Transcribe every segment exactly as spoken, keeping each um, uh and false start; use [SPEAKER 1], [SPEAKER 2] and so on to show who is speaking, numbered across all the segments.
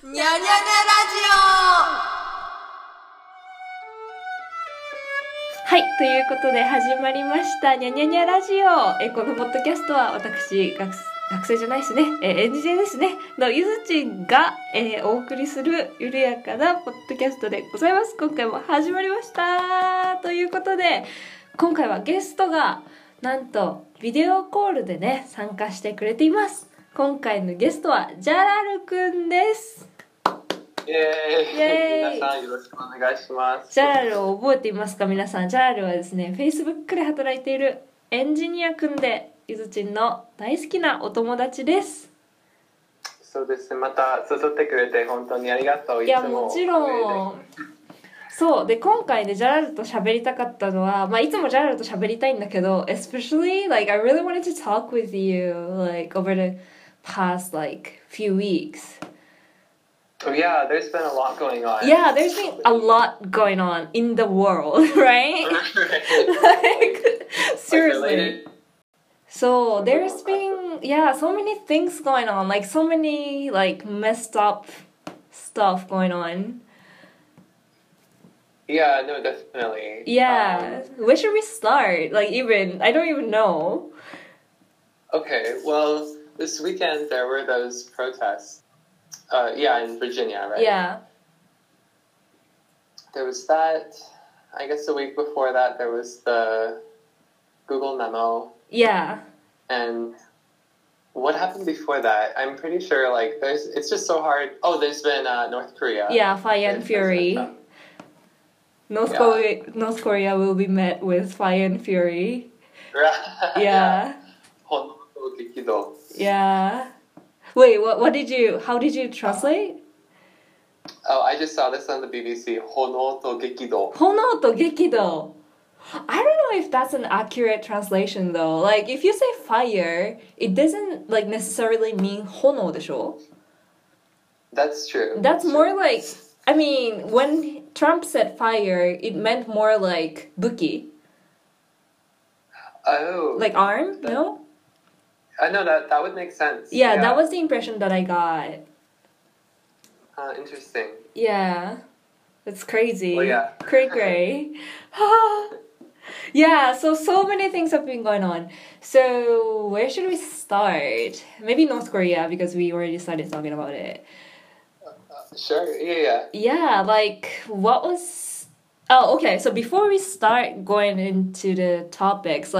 [SPEAKER 1] にゃにゃにゃラジオ。はい、ということで始まりましたにゃにゃにゃラジオ。えこのポッドキャストは私学学生じゃないですね、えー、エンジニアですねのゆずちんが、えー、お送りする緩やかなポッドキャストでございます。今回も始まりましたということで、今回はゲストがなんとビデオコールでね参加してくれています。今回のゲストはジャラルくんです。
[SPEAKER 2] イエーイ、イエーイ、皆さんよろしくお願いします。
[SPEAKER 1] ジャラルを覚えていますか皆さん。ジャラルはですね Facebook で働いているエンジニアくんで、ゆずちんの大好きなお友達です。
[SPEAKER 2] そうですね、また誘ってくれて本当にありがとう。
[SPEAKER 1] いやもちろんそうで、今回ねジャラルと喋りたかったのは、まあいつもジャラルと喋りたいんだけど、 especially like I really wanted to talk with you like over the past like few weeks.Oh,
[SPEAKER 2] yeah, there's been a lot going on.
[SPEAKER 1] Yeah, there's been a lot going on in the world, right? Like, seriously. So, there's been, yeah, so many things going on. Like, so many, like, messed up stuff going on.
[SPEAKER 2] Yeah, no, definitely.
[SPEAKER 1] Yeah. Um, Where should we start? Like, even, I don't even know.
[SPEAKER 2] Okay, well, this weekend there were those protests.Uh, yeah, in Virginia, right?
[SPEAKER 1] Yeah.
[SPEAKER 2] There was that. I guess the week before that, there was the Google memo.
[SPEAKER 1] Yeah.
[SPEAKER 2] And what happened before that? I'm pretty sure, like, there's. It's just so hard. Oh, there's been uh, North Korea.
[SPEAKER 1] Yeah, fire and fury. North, yeah. Korea, North Korea will be met with fire and fury. Yeah. Yeah.Wait, what, what did you, how did you translate?
[SPEAKER 2] Oh, I just saw this on the B B C. 炎と激動。
[SPEAKER 1] 炎と激動。I don't know if that's an accurate translation though. Like, if you say fire, it doesn't like necessarily mean 炎でしょ?
[SPEAKER 2] That's true.
[SPEAKER 1] That's more like, I mean, when Trump said fire, it meant more like 武器.
[SPEAKER 2] Oh.
[SPEAKER 1] Like arm,
[SPEAKER 2] that,
[SPEAKER 1] no?I
[SPEAKER 2] know that that would make sense.
[SPEAKER 1] Yeah, yeah, that was the impression that I got.
[SPEAKER 2] Uh, interesting.
[SPEAKER 1] Yeah, it's crazy.
[SPEAKER 2] Well, yeah.
[SPEAKER 1] Cray cray. Yeah, so so many things have been going on. So where should we start? Maybe North Korea because we already started talking about it.
[SPEAKER 2] Uh, uh, sure. Yeah, yeah.
[SPEAKER 1] Yeah, like what was? Oh, okay. So before we start going into the topics,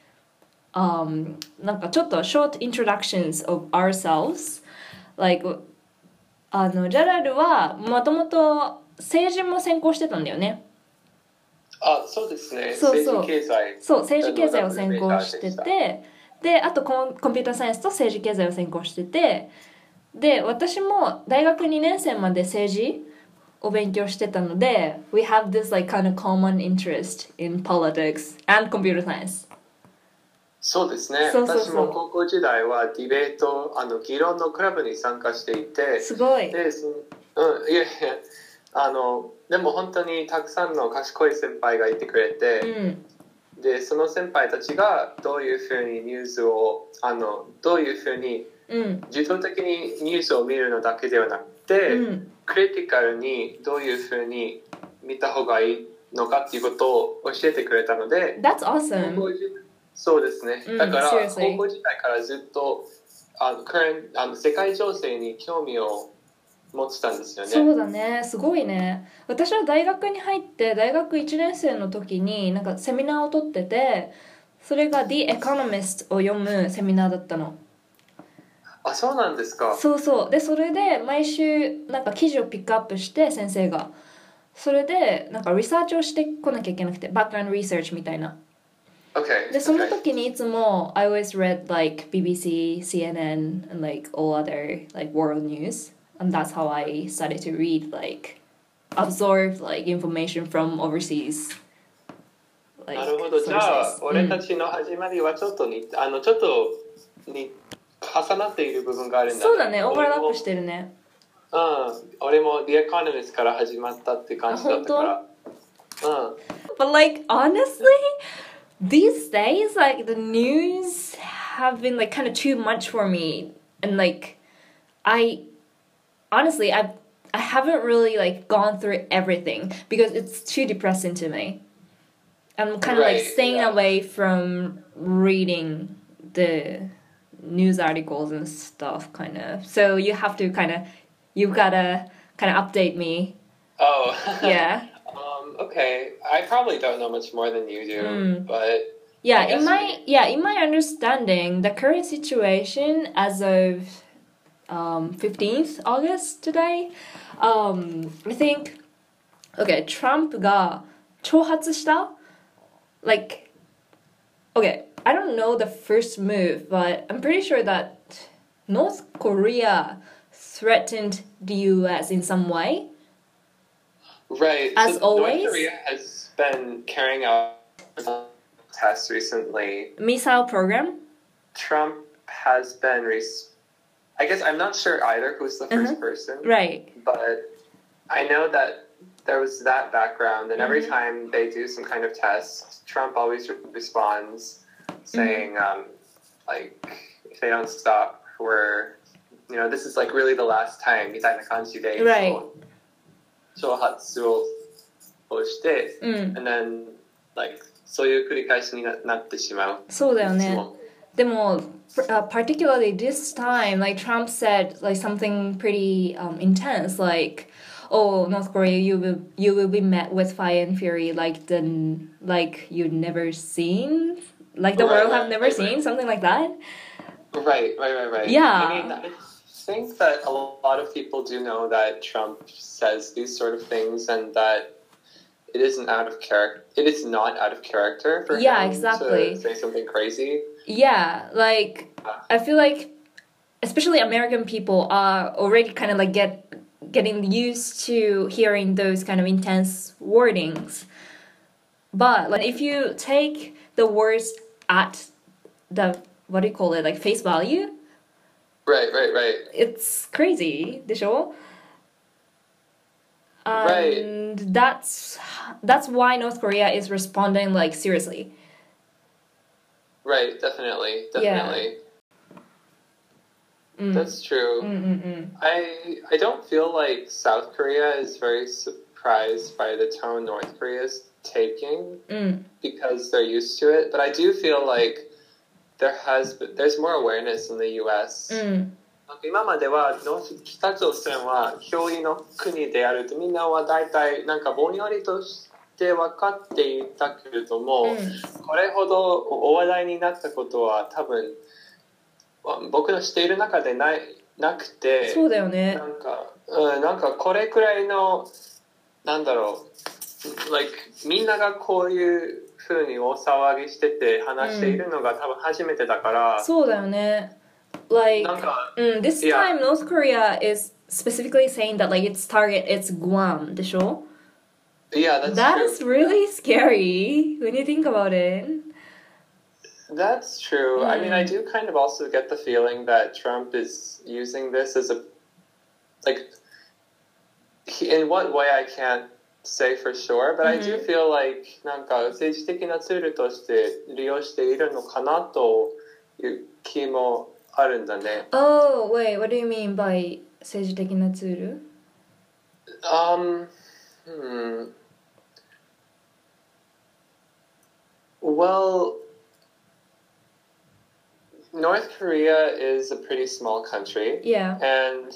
[SPEAKER 1] like.Um, なんかちょっと short introductions of ourselves. Like, あのジャラルはもともと政治も専攻してたんだよね。
[SPEAKER 2] あ、そうですね。
[SPEAKER 1] そうそう
[SPEAKER 2] 政治経済。
[SPEAKER 1] そう政治経済を専攻してて、であとコン、コンピューターサイエンスと政治経済を専攻してて、で私も大学にねん生まで政治を勉強してたので、we have this like kind of common interest in politics and computer science.
[SPEAKER 2] そうですね。
[SPEAKER 1] そうそうそう、
[SPEAKER 2] 私も高校時代はディベート、あの議論のクラブに参加していて、
[SPEAKER 1] すごい。
[SPEAKER 2] で、そのうん、いやいや、あのでも本当にたくさんの賢い先輩がいてくれて、
[SPEAKER 1] うん、
[SPEAKER 2] でその先輩たちがどういうふうにニュースをあのどういうふうに自動的にニュースを見るのだけではなくて、
[SPEAKER 1] うん、
[SPEAKER 2] クリティカルにどういうふうに見た方がいいのかっていうことを教えてくれたので、
[SPEAKER 1] That's awesome.
[SPEAKER 2] そうですね。だから、
[SPEAKER 1] うん、
[SPEAKER 2] 高校時代からずっとあのあの世界情勢に興味を持ってたんですよね。
[SPEAKER 1] そうだね、すごいね。私は大学に入って大学いちねん生の時になんかセミナーを取ってて、それが The Economist を読むセミナーだったの。
[SPEAKER 2] あ、そうなんですか。
[SPEAKER 1] そうそう。でそれで毎週なんか記事をピックアップして先生が、それでなんかリサーチをしてこなきゃいけなくて、バックグラウンドリサーチみたいな。
[SPEAKER 2] Okay,
[SPEAKER 1] でその時にいつも I always read like ビービーシー, シーエヌエヌ and like all other like world news, and that's how I started to read like absorb like information from overseas.
[SPEAKER 2] Like, なるほど。じゃあ、うん、俺たちの始まりはちょっとにあのちょっとに重なっている部分があるんだ、ね。
[SPEAKER 1] そうだね、オーバーラップしてるね。
[SPEAKER 2] うん、俺も The Economist から始まったって感じだったから。うん。
[SPEAKER 1] But like honestly.These days, like the news have been like kind of too much for me, and like I honestly, I've I haven't really like gone through everything because it's too depressing to me. I'm kind of
[SPEAKER 2] Right,
[SPEAKER 1] like staying
[SPEAKER 2] yeah.
[SPEAKER 1] away from reading the news articles and stuff, kind of. So you have to kind of, you gotta kind of update me.
[SPEAKER 2] Oh.
[SPEAKER 1] Yeah.
[SPEAKER 2] um, okay. I probably don't know much more than you do,
[SPEAKER 1] Mm.
[SPEAKER 2] but
[SPEAKER 1] yeah,
[SPEAKER 2] I guess
[SPEAKER 1] in my
[SPEAKER 2] we-
[SPEAKER 1] yeah in my understanding, the current situation as of um, fifteenth August today, um, I think, okay, Trump が挑発した like, okay, I don't know the first move, but I'm pretty sure that North Korea threatened the U S in some way.
[SPEAKER 2] Right.
[SPEAKER 1] As
[SPEAKER 2] so
[SPEAKER 1] always?
[SPEAKER 2] North Korea has been carrying out tests recently.
[SPEAKER 1] Missile program.
[SPEAKER 2] Trump has been. Res- I guess I'm not sure either who's the first
[SPEAKER 1] Uh-huh.
[SPEAKER 2] person.
[SPEAKER 1] Right.
[SPEAKER 2] But I know that there was that background, and every
[SPEAKER 1] Mhm.
[SPEAKER 2] time they do some kind of test, Trump always re- responds saying, um, like, if they don't stop, we're, you know, this is like really the last time, みたいな感じで、
[SPEAKER 1] Right.
[SPEAKER 2] 挑発ををして、
[SPEAKER 1] うん。
[SPEAKER 2] and then, like, そういう繰り返しにななってしまう。
[SPEAKER 1] そうだよね。
[SPEAKER 2] いつも。
[SPEAKER 1] でも、uh, particularly this time, like Trump said like something pretty um, intense, like, "Oh, North Korea, you will you will be met with fire and fury like the like you've never seen, like the
[SPEAKER 2] Right,
[SPEAKER 1] world have
[SPEAKER 2] right,
[SPEAKER 1] never
[SPEAKER 2] right,
[SPEAKER 1] seen,"
[SPEAKER 2] right.
[SPEAKER 1] something like that.
[SPEAKER 2] Right, right, right, right.
[SPEAKER 1] Yeah.
[SPEAKER 2] I mean, I think that a lot of people do know that Trump says these sort of things, and that it isn't out of character. It is not out of character for
[SPEAKER 1] Yeah,
[SPEAKER 2] him
[SPEAKER 1] exactly.
[SPEAKER 2] to say something crazy.
[SPEAKER 1] Yeah, like I feel like especially American people are already kind of like get getting used to hearing those kind of intense wordings. But like if you take the words at the what do you call it, like face value,
[SPEAKER 2] Right, right, right.
[SPEAKER 1] it's crazy, でしょ? And that's that's why North Korea is responding like seriously.
[SPEAKER 2] Right, definitely,
[SPEAKER 1] Yeah.
[SPEAKER 2] definitely.
[SPEAKER 1] Mm.
[SPEAKER 2] That's true.
[SPEAKER 1] Mm-mm-mm.
[SPEAKER 2] I I don't feel like South Korea is very surprised by the tone North Korea is taking
[SPEAKER 1] Mm.
[SPEAKER 2] because they're used to it. But I do feel like there has been, there's more awareness in the U S.
[SPEAKER 1] うん
[SPEAKER 2] なんか今まではノース北朝鮮は脅威の国であるとみんなは大体なんかぼんやりとして分かっていたけれども、
[SPEAKER 1] うん
[SPEAKER 2] これほどお話題になったことは多分僕の知っている中でないなくて、
[SPEAKER 1] そうだよね。
[SPEAKER 2] なんか、うん、なんかこれくらいのなんだろう、like みんながこういう風に大騒ぎしてて話しているのが多分初めてだから、
[SPEAKER 1] そうだよね。Like,
[SPEAKER 2] なんか、
[SPEAKER 1] mm, this
[SPEAKER 2] Yeah.
[SPEAKER 1] time North Korea is specifically saying that like its target is Guam, でしょ?
[SPEAKER 2] Yeah, that's
[SPEAKER 1] That
[SPEAKER 2] true.
[SPEAKER 1] is really scary when you think about it.
[SPEAKER 2] That's true. I mean, I
[SPEAKER 1] Mm.
[SPEAKER 2] do kind of also get the feeling that Trump is using this as a, like, he, in what way I can't say for sure, but I do
[SPEAKER 1] Mhm.
[SPEAKER 2] feel like なんか政治的なツールとして利用しているのかなという気もあるんだね。
[SPEAKER 1] Oh, wait, what do you mean by 政治的なツール?
[SPEAKER 2] Um, hmm. Well, North Korea is a pretty small country.
[SPEAKER 1] Yeah.
[SPEAKER 2] And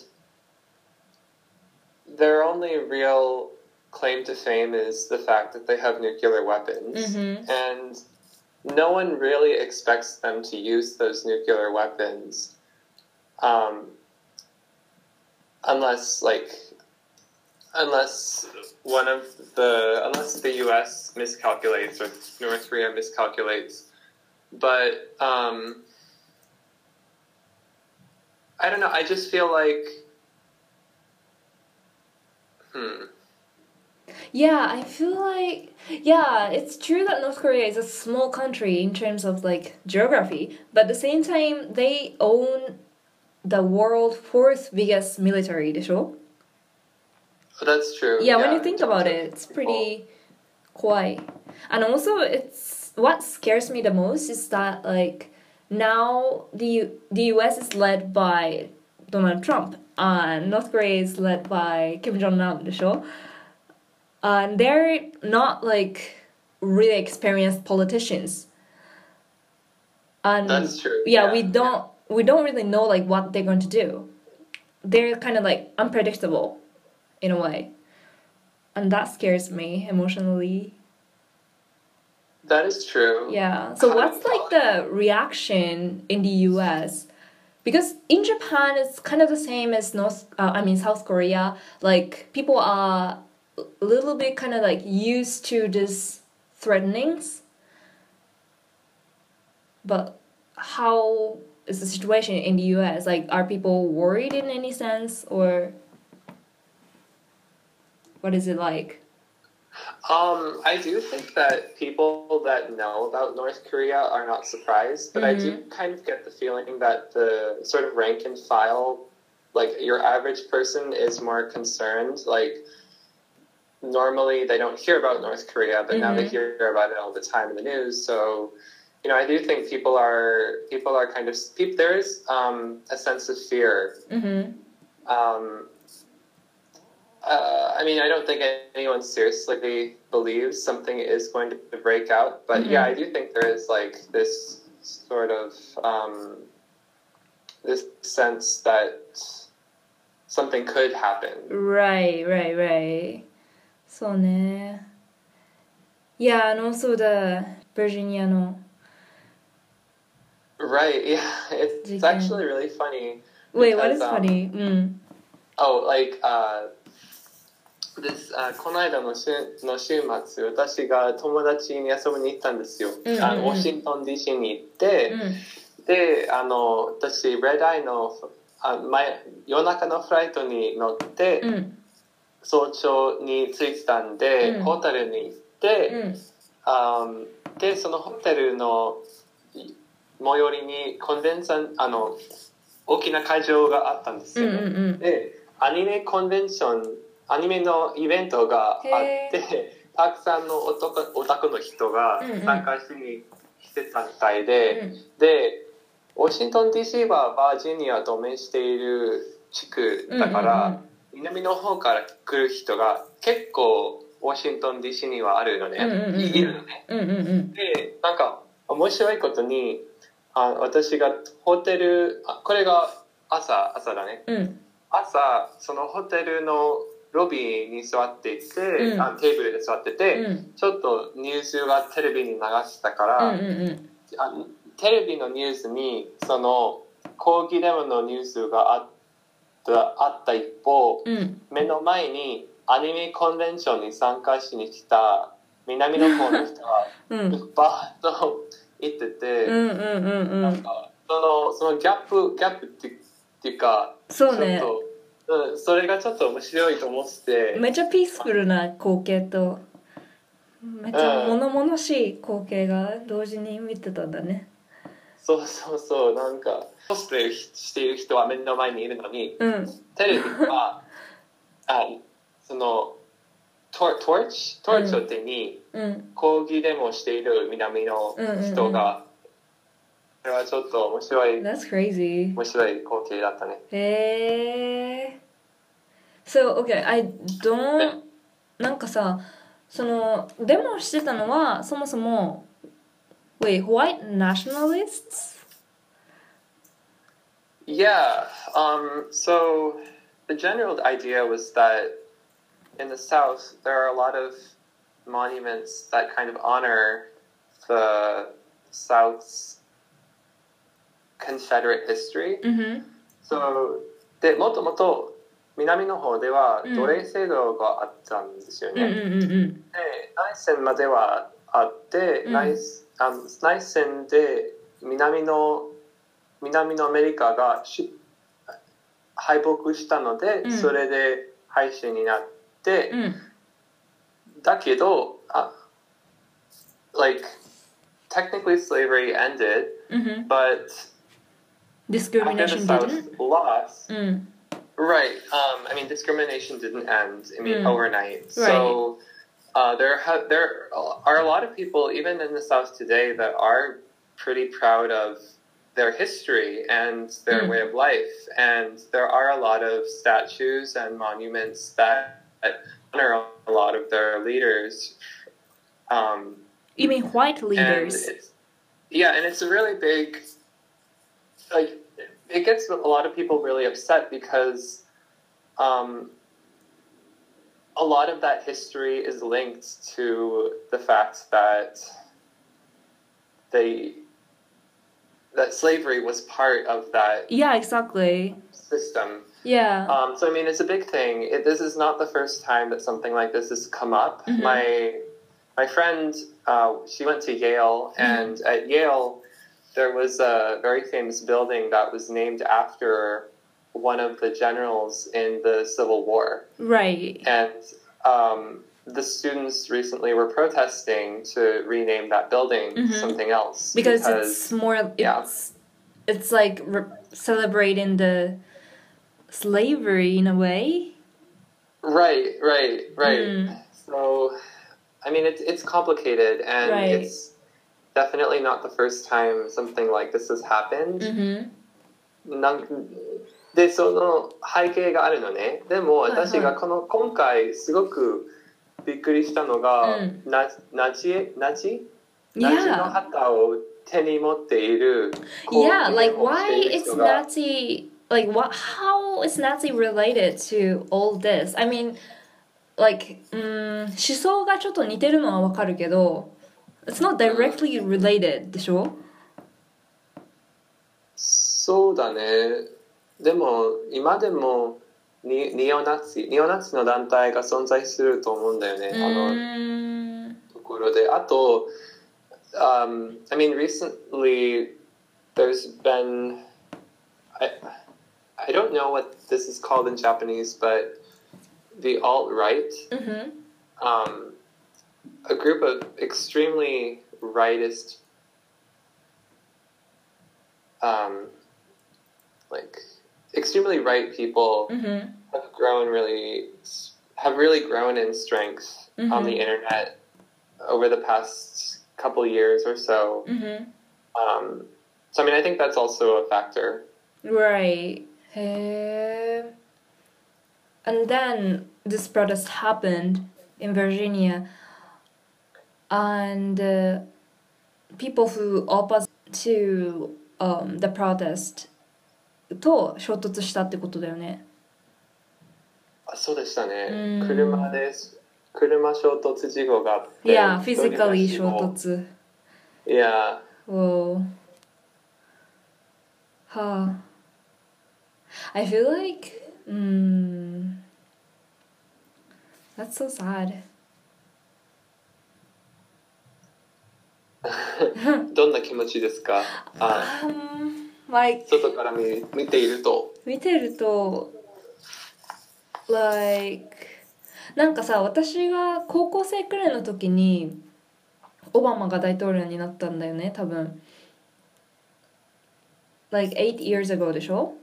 [SPEAKER 2] their only real claim to fame is the fact that they have nuclear weapons.
[SPEAKER 1] Mhm.
[SPEAKER 2] And no one really expects them to use those nuclear weapons um, unless, like, unless one of the, unless the U S miscalculates or North Korea miscalculates. But, um, I don't know, I just feel like, hmm.
[SPEAKER 1] Yeah, I feel like yeah, it's true that North Korea is a small country in terms of like geography, but at the same time they own the world fourth biggest military, でしょ?
[SPEAKER 2] That's true.
[SPEAKER 1] Yeah, when you
[SPEAKER 2] in
[SPEAKER 1] think
[SPEAKER 2] terms
[SPEAKER 1] about
[SPEAKER 2] of
[SPEAKER 1] it, it's
[SPEAKER 2] people.
[SPEAKER 1] pretty quiet. And also it's what scares me the most is that like now the the U S is led by Donald Trump, uh, North Korea is led by Kim Jong Nam でしょ and they're not like really experienced politicians and
[SPEAKER 2] That's true.
[SPEAKER 1] yeah,
[SPEAKER 2] Yeah.
[SPEAKER 1] we don't we don't really know like what they're going to do. They're kind of like unpredictable in a way, and that scares me emotionally.
[SPEAKER 2] That is true.
[SPEAKER 1] Yeah. So what's like the reaction in the U S? Because in Japan it's kind of the same as North uh, I mean South Korea. Like people are a little bit kind of like used to this threatenings. But how is the situation in the U S? Like are people worried in any sense, or what is it like?
[SPEAKER 2] Um, I do think that people that know about North Korea are not surprised, but I do kind of get the feeling that the sort of rank and file, like your average person, is more concerned. Like normally they don't hear about North Korea, but now they hear about it all the time in the news. So, you know, I do think people are people are kind of people, there is um, a sense of fear.
[SPEAKER 1] Mm-hmm.
[SPEAKER 2] Um, Uh, I mean, I don't think anyone seriously believes something is going to break out, but
[SPEAKER 1] Mm-hmm.
[SPEAKER 2] yeah, I do think there is like this sort of um, this sense that something could happen.
[SPEAKER 1] Right, right, right. そうね。Yeah, and also the Virginia の
[SPEAKER 2] Right? Yeah, it's, it's
[SPEAKER 1] Jiken.
[SPEAKER 2] actually really funny.
[SPEAKER 1] Wait, what
[SPEAKER 2] because,
[SPEAKER 1] is
[SPEAKER 2] um,
[SPEAKER 1] funny? Mm.
[SPEAKER 2] Oh, like uh, this. Uh, この間の週の週末、私が友達に遊びに行ったんですよ。
[SPEAKER 1] うんうんうん
[SPEAKER 2] あのワシントン ディーシー に行って。
[SPEAKER 1] うん
[SPEAKER 2] で、あの、私、レッドアイのあ前夜中のフライトに乗って、
[SPEAKER 1] うん、
[SPEAKER 2] 早朝に着いてたんで、
[SPEAKER 1] うん、
[SPEAKER 2] ホテルに行って、
[SPEAKER 1] うん、
[SPEAKER 2] あで、そのホテルの最寄りにコンデンサー、あの、大きな会場があったんですよね。
[SPEAKER 1] うんうんうん、
[SPEAKER 2] で、アニメコンベンション、アニメのイベントがあって、たくさんのオタクオタクの人が参加しに来てたみたいで、
[SPEAKER 1] うんうん、
[SPEAKER 2] で、ワシントン ディーシー はバージニアと面している地区だから、うんうんうん、南の方から来る人が結構ワシントン ディーシー にはあるのね、うんうんうん、いるのね、
[SPEAKER 1] うんうんうん、
[SPEAKER 2] で、なんか面白いことにあ私がホテルあこれが朝朝だね、
[SPEAKER 1] うん、
[SPEAKER 2] 朝そのホテルのロビーに座っていて、うん、あテーブルで座ってて、うん、ちょっとニュースがテレビに流したから、うんうんうん、あテレビのニュースにその抗議デモのニュースがあったあった一方、うん、目の前にアニメコンベンションに参加しに来た南の方の人がバーッと行ってて、うんうんうんうん、なんかそのそのギャップギャップってっていうか、
[SPEAKER 1] そうね、
[SPEAKER 2] ちょっと、うん、それがちょっと面白いと思ってて、
[SPEAKER 1] めっちゃピースフルな光景とめっちゃ物々しい光景が同時に見てたんだね。
[SPEAKER 2] そうそうそう、なんかコスプレしている人は目の前にいるのに、うん、テレビはあそのトートーチトーチを手に抗議デモをしている南の人が、それはちょっと面白い。
[SPEAKER 1] That's crazy.
[SPEAKER 2] 面白い光景だったね。
[SPEAKER 1] へー。So okay, I don't なんかさ、そのデモしてたのはそもそも。Wait, white nationalists?
[SPEAKER 2] Yeah, um, so the general idea was that in the South there are a lot of monuments that kind of honor the South's Confederate history.
[SPEAKER 1] Mm-hmm.
[SPEAKER 2] So, で、もともと南の方では奴隷制度があったんですよね。
[SPEAKER 1] Mm-hmm.
[SPEAKER 2] で、内戦まではあって、mm-hmm. 内あの内戦で南の南のアメリカが敗北したので、うん、それで廃止になって、うん、だけど、uh, like technically slavery ended,
[SPEAKER 1] mm-hmm.
[SPEAKER 2] but
[SPEAKER 1] discrimination
[SPEAKER 2] after the South
[SPEAKER 1] didn't.
[SPEAKER 2] Lost,
[SPEAKER 1] mm.
[SPEAKER 2] Right. Um, I mean, discrimination didn't end. I mean, mm. overnight.
[SPEAKER 1] Right.
[SPEAKER 2] So. Uh, there, ha- there are a lot of people, even in the South today, that are pretty proud of their history and their
[SPEAKER 1] Mm.
[SPEAKER 2] way of life. And there are a lot of statues and monuments that honor a lot of their leaders. Um,
[SPEAKER 1] You mean white
[SPEAKER 2] and
[SPEAKER 1] leaders?
[SPEAKER 2] it's, yeah, and it's a really big, like, it gets a lot of people really upset because um, a lot of that history is linked to the fact that they that slavery was part of that
[SPEAKER 1] Yeah, exactly.
[SPEAKER 2] system.
[SPEAKER 1] Yeah.
[SPEAKER 2] Um, so I mean, it's a big thing. It, this is not the first time that something like this has come up.
[SPEAKER 1] Mhm.
[SPEAKER 2] My my friend, uh, she went to Yale, and at Yale, there was a very famous building that was named after one of the generals in the Civil War.
[SPEAKER 1] Right.
[SPEAKER 2] And um, the students recently were protesting to rename that building
[SPEAKER 1] Mhm.
[SPEAKER 2] something else
[SPEAKER 1] Because, it's more it's
[SPEAKER 2] yeah.
[SPEAKER 1] it's like re- celebrating the slavery in a way.
[SPEAKER 2] right, right, right.
[SPEAKER 1] Mm.
[SPEAKER 2] So, I mean, it's it's complicated, and
[SPEAKER 1] Right.
[SPEAKER 2] it's definitely not the first time something like this has happened.
[SPEAKER 1] Mhm.
[SPEAKER 2] なんでその背景があるのね。でも
[SPEAKER 1] はいはい
[SPEAKER 2] 私がこの今回すごくびっくりしたのが、
[SPEAKER 1] うん
[SPEAKER 2] なナチナチナチの
[SPEAKER 1] Yeah.
[SPEAKER 2] 旗を手に持っている。
[SPEAKER 1] Yeah, like
[SPEAKER 2] 抗議デモをして
[SPEAKER 1] why
[SPEAKER 2] いる
[SPEAKER 1] is
[SPEAKER 2] 人が
[SPEAKER 1] Nazi like what how is Nazi related to all this? I mean, like うーん思想がちょっと似てるのはわかるけど it's not directly related でしょ？
[SPEAKER 2] そうだね。でも今でもニニオナチニオナチの団体が存在すると思うんだよね。
[SPEAKER 1] う
[SPEAKER 2] あの
[SPEAKER 1] ーん
[SPEAKER 2] ところで、あと、um, I mean, recently there's been, I, I don't know what this is called in Japanese, but the alt-right,
[SPEAKER 1] うん
[SPEAKER 2] um, a group of extremely rightist, um, like, extremely right people
[SPEAKER 1] うん
[SPEAKER 2] have grown really, have really grown in strength on the internet over the past couple years or so.
[SPEAKER 1] うん
[SPEAKER 2] Um, so, I mean, I think that's also a factor.
[SPEAKER 1] Right. へー And then this protest happened in Virginia, and uh, people who opposed to um, the protest と衝突したってことだよね。
[SPEAKER 2] あ、そうでしたね。
[SPEAKER 1] うん
[SPEAKER 2] 車で、車衝突事故があって。
[SPEAKER 1] Yeah,
[SPEAKER 2] 一人が
[SPEAKER 1] physically 衝
[SPEAKER 2] 死亡。
[SPEAKER 1] 突。
[SPEAKER 2] Yeah.
[SPEAKER 1] Whoa. Huh. I feel like, mm, that's so sad.
[SPEAKER 2] どんな気持ちですか？あ、
[SPEAKER 1] Um, like,
[SPEAKER 2] 外から見、見ていると。
[SPEAKER 1] 見てると like なんかさ私が高校生くらいの時にオバマが大統領になったんだよね多分 like eight years ago でしょ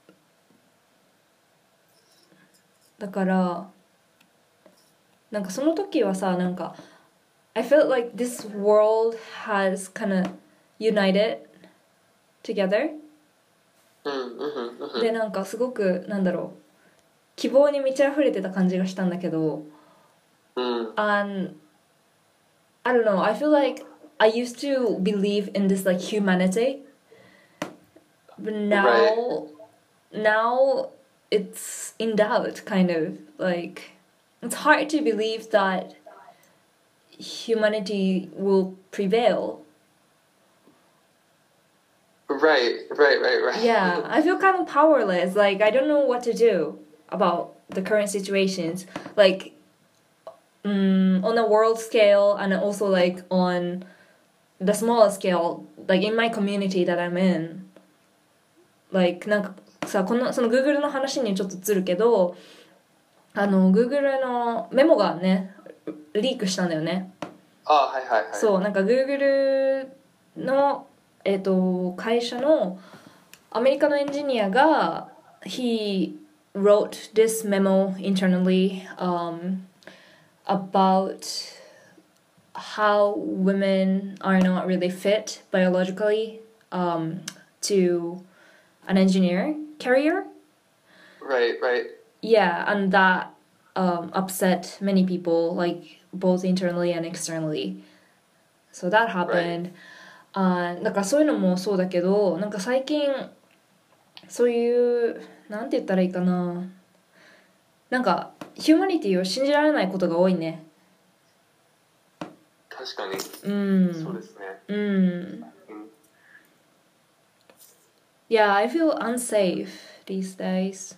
[SPEAKER 1] だからなんかその時はさなんか I felt like this world has kind of united together
[SPEAKER 2] うんうんうんうん。
[SPEAKER 1] でなんかすごくなんだろう希望に満ち溢れてた感じがしたんだけど、
[SPEAKER 2] うん。
[SPEAKER 1] and I don't know I feel like I used to believe in this like humanity but now
[SPEAKER 2] Right.
[SPEAKER 1] now it's in doubt kind of like it's hard to believe that humanity will prevail.
[SPEAKER 2] Right, right, right, right.
[SPEAKER 1] Yeah, I feel kind of powerless. Like, I don't know what to do about the current situations. Like, um, on a world scale and also, like, on the smaller scale, like, in my community that I'm in. Like, なんかさ、この、その Google の話にちょっとずるけど、あの、Google のメモがね、リークしたんだよね。
[SPEAKER 2] あ、はいはいはい。
[SPEAKER 1] そう、なんか Google のえっと会社のアメリカのエンジニアが he wrote this memo internally um, about how women are not really fit biologically um, to an engineer career.
[SPEAKER 2] Right, right.
[SPEAKER 1] Yeah, and that um, upset many people, like both internally and externally. So that happened. あー、だからそういうのもそうだけど、なんか最近そういうなんて言ったらいいかな、なんかヒューマニティを信じられないことが多いね。
[SPEAKER 2] 確かに。
[SPEAKER 1] うん。
[SPEAKER 2] そうですね。
[SPEAKER 1] うん。
[SPEAKER 2] うん。
[SPEAKER 1] Yeah, I feel unsafe these days.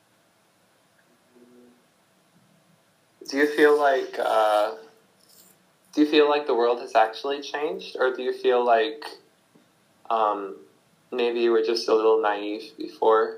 [SPEAKER 2] Do you feel like uh, do you feel like the world has actually changed, or do you feel like um, maybe you were just a little naive before?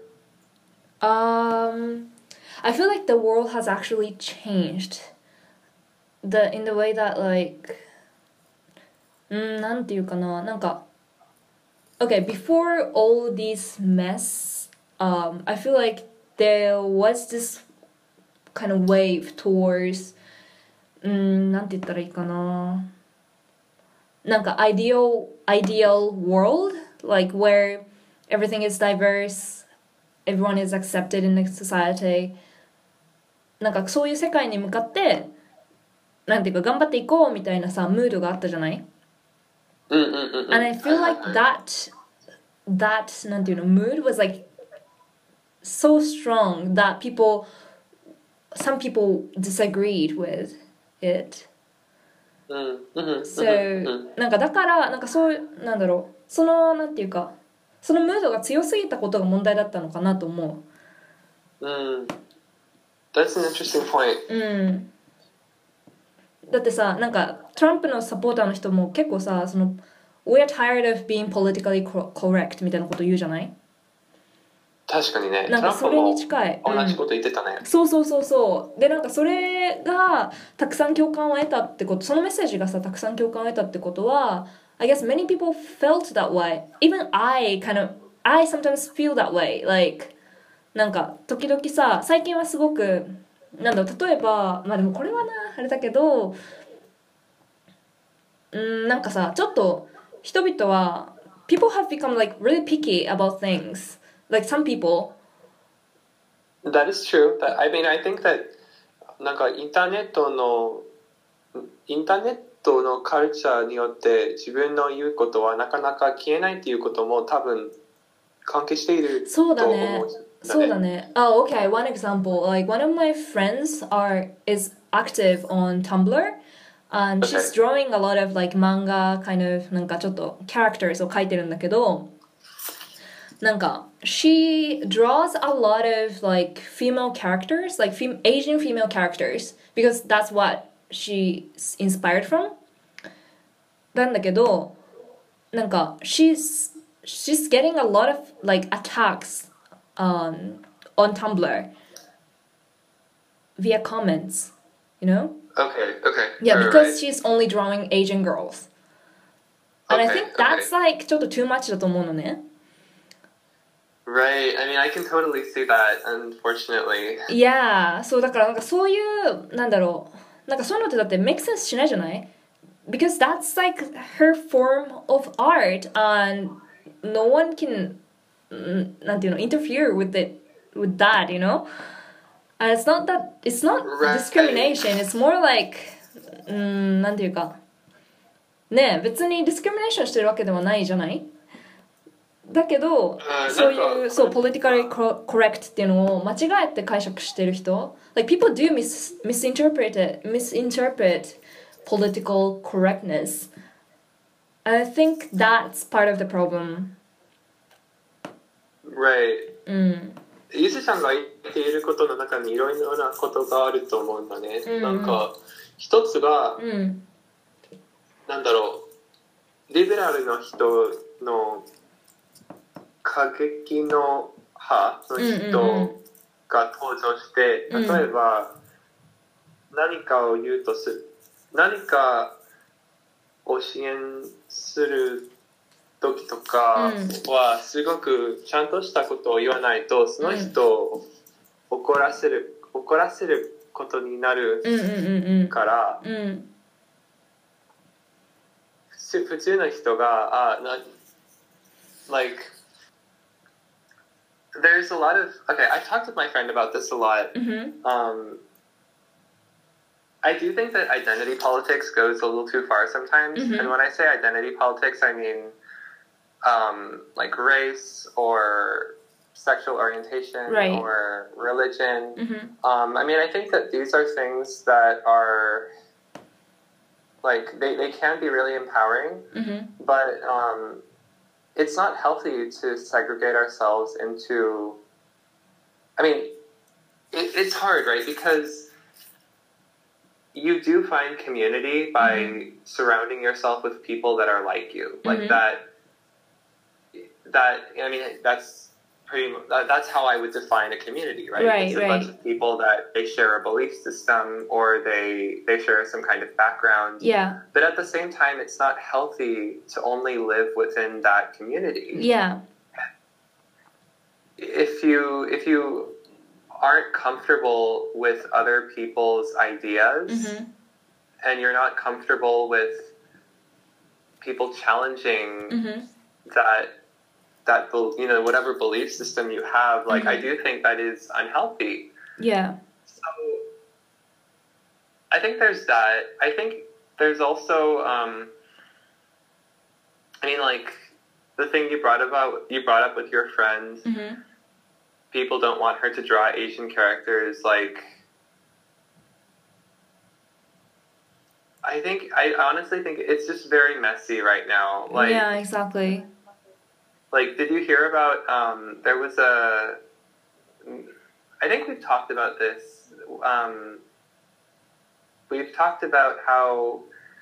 [SPEAKER 1] Um, I feel like the world has actually changed. The in the way that like うん、なんていうかな、なんか okay, before all this mess, um, I feel like there was this kind of wave towards うん、なんて言ったらいいかな、なんか ideal ideal world, like where everything is diverse, everyone is accepted in the society. なんかそういう世界に向かってなんていうか頑張っていこうみたいなさムードがあったじゃない？
[SPEAKER 2] Mm-mm-mm-mm.
[SPEAKER 1] And I feel like that that なんていうの mood was like so strong that people some people disagreed with it. So なんかだからなんかそうなんだろう、そのなんていうかそのムードが強すぎたことが問題だったのかなと思
[SPEAKER 2] う。Mm. That's an interesting point.
[SPEAKER 1] う。うん。だってさ、なんかトランプのサポーターの人も結構さ、その We're tired of being politically correct みたいなこと言うじゃない？
[SPEAKER 2] 確かにね。
[SPEAKER 1] なんかそれに近い。
[SPEAKER 2] 同じこと言ってたね、
[SPEAKER 1] うん。そうそうそうそう。でなんかそれがたくさん共感を得たってこと、そのメッセージがさたくさん共感を得たってことは、I guess many people felt that way. Even I kind of I sometimes feel that way. Like なんか時々さ、最近はすごくなんだろう、例えばまあでもこれはなあれだけど、うんなんかさちょっと人々は people have become like really picky about things. Like some people.
[SPEAKER 2] That is true. That, I mean, I think that なんかインターネットのインターネットのカルチャーによって自分の言うことはなかなか消えないっていうことも多分関係していると思う。
[SPEAKER 1] そうだね。そうだね。Oh, okay. One example. Like one of my friends are is active on Tumblr, and she's
[SPEAKER 2] Okay.
[SPEAKER 1] drawing a lot of like manga kind of なんかちょっと characters を描いてるんだけど、なんか she draws a lot of like female characters, like fem- Asian female characters, because that's what she's inspired from. なんだけど、なんか she's she's getting a lot of like attacks um, on Tumblr via comments, you know?
[SPEAKER 2] Okay, okay.
[SPEAKER 1] Yeah,
[SPEAKER 2] Right,
[SPEAKER 1] because
[SPEAKER 2] right.
[SPEAKER 1] she's only drawing Asian girls. And I
[SPEAKER 2] Okay,
[SPEAKER 1] think that's
[SPEAKER 2] okay.
[SPEAKER 1] like ちょっと too much だと思うのね。
[SPEAKER 2] Right. I mean, I can totally see that, unfortunately.
[SPEAKER 1] Yeah, そうだからなんかそういうなんだろう、なんかそういうのってだって make sense しないじゃない？ Because that's like her form of art and no one can なんていうの interfere with it with that, you know? And it's not that it's not
[SPEAKER 2] Right.
[SPEAKER 1] discrimination, it's more like うーんなんていうかねえ別にディスクリミネーションしてるわけではないじゃない？だけど、
[SPEAKER 2] uh,
[SPEAKER 1] そういうそう politically correct っていうのを間違えて解釈してる人 like people do mis misinterpret it misinterpret political correctness, and I think that's part of the problem.
[SPEAKER 2] Right.
[SPEAKER 1] うん。
[SPEAKER 2] ゆずさんが言っていることの中にいろいろなことがあると思うんだね。
[SPEAKER 1] うんうん、
[SPEAKER 2] なんか一つが、
[SPEAKER 1] うん、
[SPEAKER 2] なんだろう、リベラルの人の過激の派の人が登場して、
[SPEAKER 1] うんうんうん、
[SPEAKER 2] 例えば何かを言うとす何かを支援する時とかはすごくちゃんとしたことを言わないとその人を怒らせる、怒らせることになるから、
[SPEAKER 1] うんうんうん、
[SPEAKER 2] 普通の人があな like there's a lot of okay. I talked with my friend about this a lot.
[SPEAKER 1] Mm-hmm.
[SPEAKER 2] Um, I do think that identity politics goes a little too far sometimes.
[SPEAKER 1] Mm-hmm.
[SPEAKER 2] And when I say identity politics, I mean um, like race or sexual orientation
[SPEAKER 1] Right.
[SPEAKER 2] or religion.
[SPEAKER 1] Mm-hmm.
[SPEAKER 2] Um, I mean, I think that these are things that are like they, they can be really empowering,
[SPEAKER 1] Mm-hmm.
[SPEAKER 2] but um, it's not healthy to segregate ourselves into. I mean, it, it's hard, right? Because you do find community by
[SPEAKER 1] Mm-hmm.
[SPEAKER 2] surrounding yourself with people that are like you, like
[SPEAKER 1] Mm-hmm.
[SPEAKER 2] that. That I mean, that's pretty. That, that's how I would define a community, right?
[SPEAKER 1] Right,
[SPEAKER 2] it's a
[SPEAKER 1] right.
[SPEAKER 2] bunch of people that they share a belief system or they they share some kind of background.
[SPEAKER 1] Yeah.
[SPEAKER 2] But at the same time, it's not healthy to only live within that community.
[SPEAKER 1] Yeah.
[SPEAKER 2] If you if you aren't comfortable with other people's ideas
[SPEAKER 1] Mm-hmm.
[SPEAKER 2] and you're not comfortable with people challenging
[SPEAKER 1] Mm-hmm.
[SPEAKER 2] that that bel- you know whatever belief system you have, like I
[SPEAKER 1] Mhm.
[SPEAKER 2] do think that is unhealthy.
[SPEAKER 1] Yeah.
[SPEAKER 2] So I think there's that. I think there's also um, I mean like the thing you brought about you brought up with your friend.
[SPEAKER 1] Mm-hmm.
[SPEAKER 2] People don't want her to draw Asian characters. Like I think I honestly think it's just very messy right now. Like
[SPEAKER 1] Yeah, exactly.
[SPEAKER 2] Like, did you hear about, um, there was a, I think we've talked about this, um, we've talked about how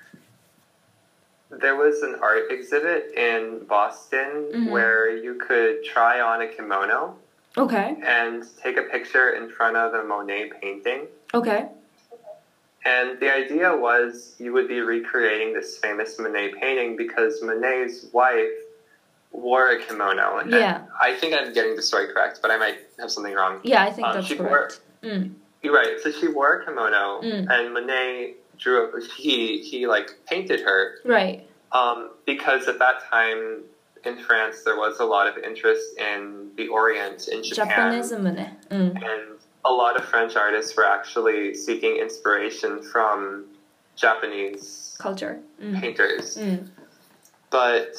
[SPEAKER 2] there was an art exhibit in Boston
[SPEAKER 1] Mhm.
[SPEAKER 2] where you could try on a kimono
[SPEAKER 1] Okay.
[SPEAKER 2] and take a picture in front of a Monet painting.
[SPEAKER 1] Okay.
[SPEAKER 2] And the idea was you would be recreating this famous Monet painting because Monet's wife wore a kimono. And
[SPEAKER 1] Yeah.
[SPEAKER 2] I think I'm getting the story correct, but I might have something wrong.
[SPEAKER 1] Yeah, I think
[SPEAKER 2] Um,
[SPEAKER 1] that's
[SPEAKER 2] she
[SPEAKER 1] correct. Mm.
[SPEAKER 2] You're right. So she wore a kimono,
[SPEAKER 1] Mm.
[SPEAKER 2] and Monet drew. A, he he like painted her
[SPEAKER 1] Right.
[SPEAKER 2] um, because at that time in France there was a lot of interest in the Orient in Japan,
[SPEAKER 1] Japanism ね。うん。
[SPEAKER 2] and a lot of French artists were actually seeking inspiration from Japanese
[SPEAKER 1] Culture. うん。
[SPEAKER 2] painters.
[SPEAKER 1] うん。
[SPEAKER 2] But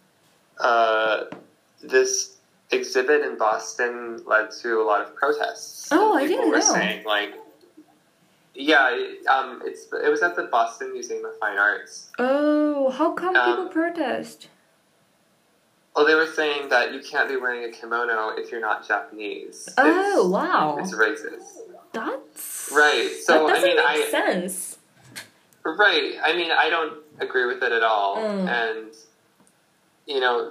[SPEAKER 2] uh, this exhibit in Boston led to a lot of protests.
[SPEAKER 1] Oh, I
[SPEAKER 2] People
[SPEAKER 1] didn't
[SPEAKER 2] were
[SPEAKER 1] know.
[SPEAKER 2] saying like, yeah, it- um, it's it was at the Boston Museum of Fine Arts.
[SPEAKER 1] Oh, how come
[SPEAKER 2] Um,
[SPEAKER 1] people protest?
[SPEAKER 2] Well, they were saying that you can't be wearing a kimono if you're not Japanese.
[SPEAKER 1] Oh,
[SPEAKER 2] It's-
[SPEAKER 1] wow.
[SPEAKER 2] It's racist.
[SPEAKER 1] That's
[SPEAKER 2] Right. So
[SPEAKER 1] that
[SPEAKER 2] I
[SPEAKER 1] doesn't
[SPEAKER 2] mean,
[SPEAKER 1] make
[SPEAKER 2] I
[SPEAKER 1] sense.
[SPEAKER 2] right. I mean, I don't agree with it at all,
[SPEAKER 1] Mm.
[SPEAKER 2] and you know.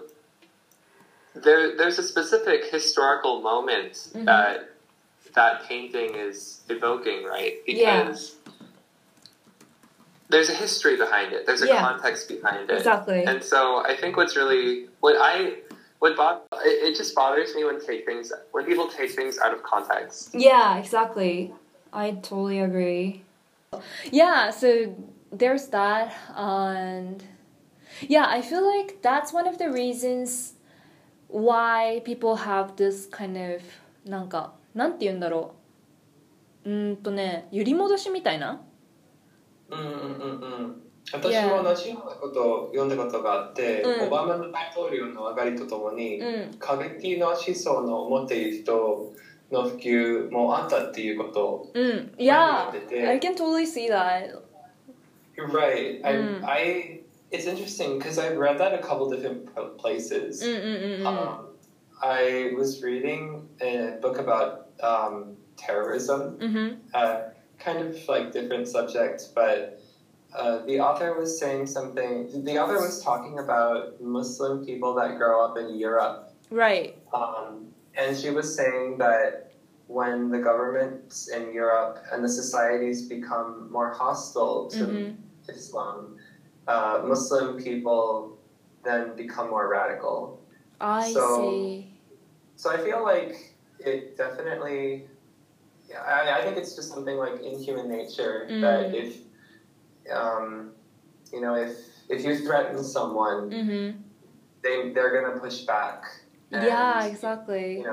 [SPEAKER 2] There, there's a specific historical moment
[SPEAKER 1] Mhm.
[SPEAKER 2] that that painting is evoking, right?
[SPEAKER 1] Yeah.
[SPEAKER 2] Because there's a history behind it. There's a
[SPEAKER 1] Yeah.
[SPEAKER 2] context behind it.
[SPEAKER 1] Exactly.
[SPEAKER 2] And so I think what's really what I what Bob it, it just bothers me when take things when people take things out of context.
[SPEAKER 1] Yeah, exactly. I totally agree. Yeah, so there's that, and yeah, I feel like that's one of the reasons why people have this kind of なんかなんて言うんだろううーんとね揺り戻しみたいな
[SPEAKER 3] うんうんうんうん私も同じようなことを読んだことがあって、
[SPEAKER 1] うん
[SPEAKER 3] オバマの大統領の上がりとともに、
[SPEAKER 1] うん
[SPEAKER 3] 過激な思想の持っている人の普及もあったっていうことを
[SPEAKER 1] うん Yeah,
[SPEAKER 3] 前にやってて
[SPEAKER 1] I can totally see that.
[SPEAKER 3] You're right. I,
[SPEAKER 1] うん
[SPEAKER 3] I, it's interesting because I've read that a couple different places.
[SPEAKER 1] うんうんうんうん
[SPEAKER 3] Um, I was reading a book about um, terrorism,
[SPEAKER 1] うん
[SPEAKER 3] uh, kind of like different subjects, but uh, the author was saying something. The author was talking about Muslim people that grow up in Europe,
[SPEAKER 1] Right.
[SPEAKER 3] um, and she was saying that when the governments in Europe and the societies become more hostile to
[SPEAKER 1] Mhm.
[SPEAKER 3] Islam, uh, Muslim people then become more radical.
[SPEAKER 1] I
[SPEAKER 3] So-
[SPEAKER 1] see.
[SPEAKER 3] So I feel like it definitely, yeah, I, I think it's just something like in human nature
[SPEAKER 1] Mm.
[SPEAKER 3] that if, um, you know, if if you threaten someone,
[SPEAKER 1] Mhm.
[SPEAKER 3] they they're gonna push back. And,
[SPEAKER 1] Yeah, exactly.
[SPEAKER 3] You know,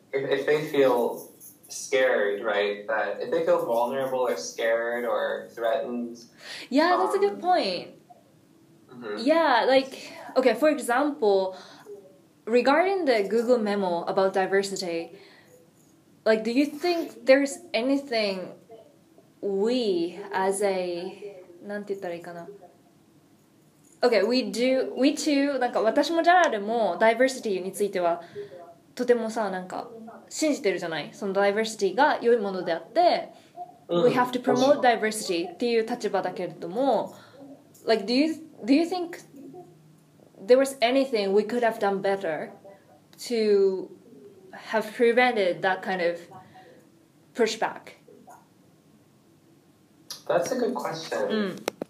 [SPEAKER 3] if, if they feel scared, right? That if they feel vulnerable or scared or threatened.
[SPEAKER 1] Yeah, that's a good
[SPEAKER 3] Um,
[SPEAKER 1] point.
[SPEAKER 3] mhm.
[SPEAKER 1] Yeah, like, okay, for example, regarding the Google memo about diversity, like, do you think there's anything we as a なんて言ったらいいかな Okay, we do, we too なんか私もジャラルも diversity についてはとてもさなんか信じてるじゃないその diversity が良いものであって、
[SPEAKER 3] うん
[SPEAKER 1] we have to promote diversity っていう立場だけれども like do you, do you think there was anything we could have done better to have prevented that kind of pushback?
[SPEAKER 3] That's a good question.
[SPEAKER 1] うん